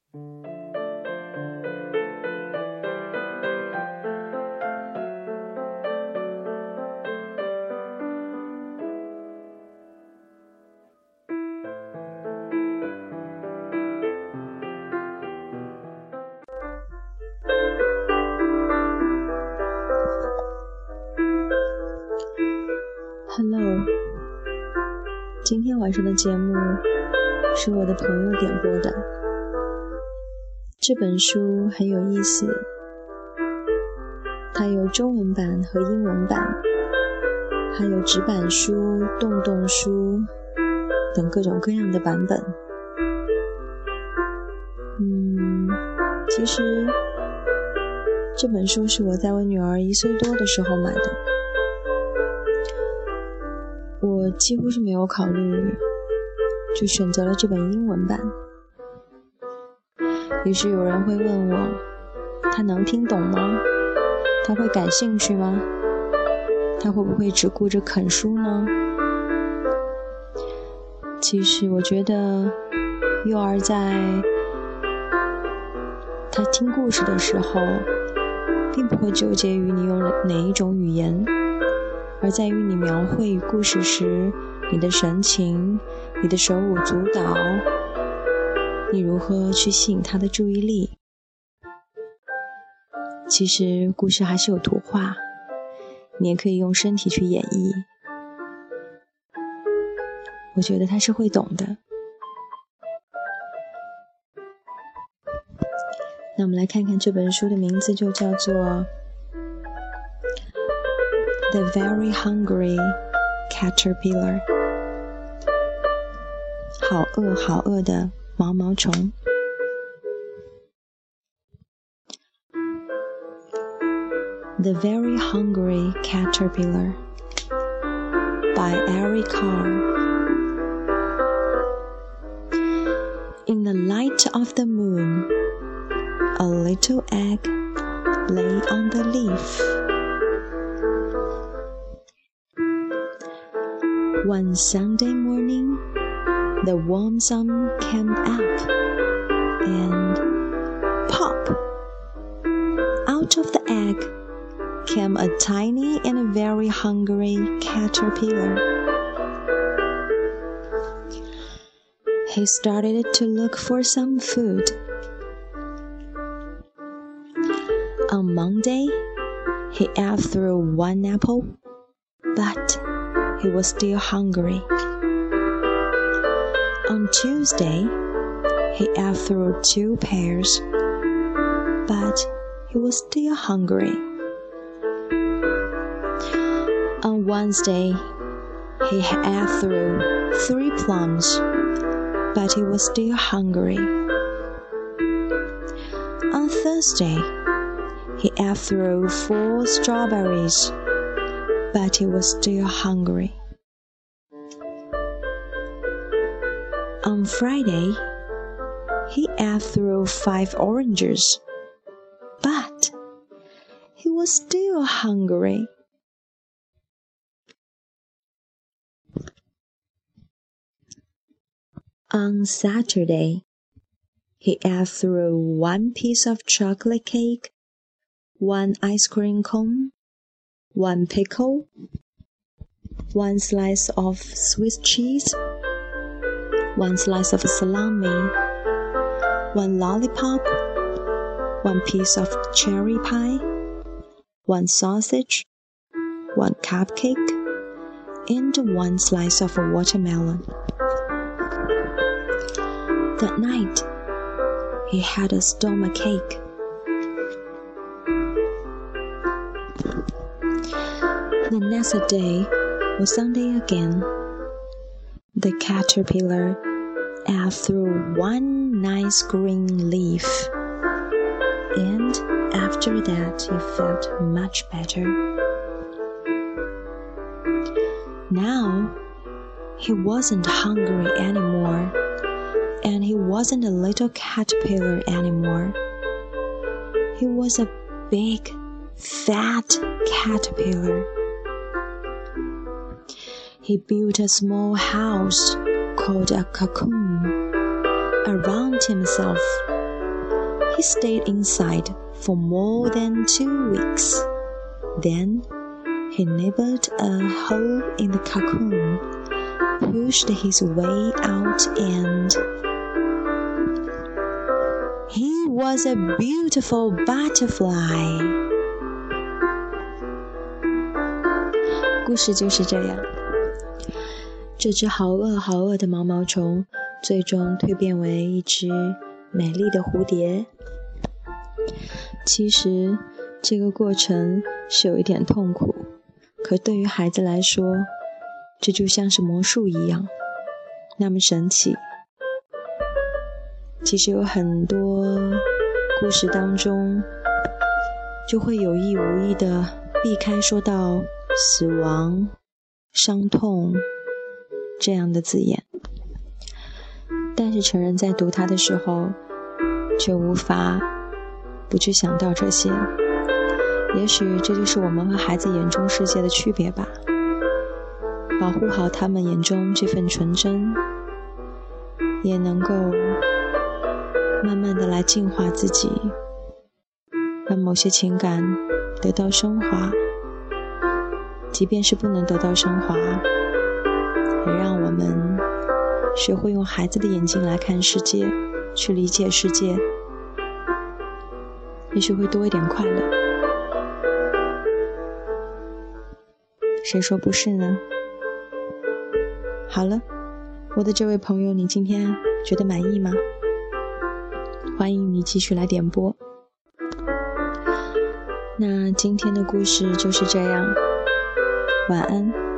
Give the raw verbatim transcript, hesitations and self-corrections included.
Hello， 今天晚上的节目是我的朋友点播的。这本书很有意思，它有中文版和英文版，还有纸板书、洞洞书等各种各样的版本。嗯，其实这本书是我在我女儿一岁多的时候买的。我几乎是没有考虑，就选择了这本英文版。于是有人会问我，他能听懂吗？他会感兴趣吗？他会不会只顾着啃书呢？其实我觉得幼儿在他听故事的时候，并不会纠结于你用哪一种语言，而在于你描绘故事时你的神情，你的手舞足蹈，你如何去吸引他的注意力。其实故事还是有图画，你也可以用身体去演绎，我觉得他是会懂的。那我们来看看这本书的名字，就叫做The Very Hungry Caterpillar， 好饿好饿的毛毛虫。The Very Hungry Caterpillar by Eric Carr. In the light of the moon, a little egg lay on the leaf. One Sunday morning, the warm sun came up, and pop! Out of the egg came a tiny and a very hungry caterpillar. He started to look for some food. On Monday, he ate through one apple, but he was still hungry. On Tuesday, he ate through two pears, but he was still hungry. On Wednesday, he ate through three plums, but he was still hungry. On Thursday, he ate through four strawberries, but he was still hungry. On Friday, he ate through five oranges, but he was still hungry. On Saturday, he ate through one piece of chocolate cake, one ice cream cone, one pickle, one slice of Swiss cheese, one slice of salami, one lollipop, one piece of cherry pie, one sausage, one cupcake, and one slice of watermelon. That night, he had a stomach ache. The next day was Sunday again. The caterpillar ate through one nice green leaf, and after that he felt much better. Now, he wasn't hungry anymore, and he wasn't a little caterpillar anymore. He was a big, fat caterpillar. He built a small house called a cocoon around himself he stayed inside for more than two weeks. Then he nibbled a hole in the cocoon, pushed his way out, and he was a beautiful butterfly. 故事就是这样，这只好饿好饿的毛毛虫最终蜕变为一只美丽的蝴蝶。其实这个过程是有一点痛苦，可对于孩子来说，这就像是魔术一样，那么神奇。其实有很多故事当中就会有意无意的避开说到死亡、伤痛这样的字眼，但是成人在读它的时候却无法不去想到这些。也许这就是我们和孩子眼中世界的区别吧，保护好他们眼中这份纯真，也能够慢慢的来净化自己，让某些情感得到升华，即便是不能得到升华，也让我们学会用孩子的眼睛来看世界，去理解世界，也许会多一点快乐。谁说不是呢？好了，我的这位朋友，你今天觉得满意吗？欢迎你继续来点播。那今天的故事就是这样，晚安。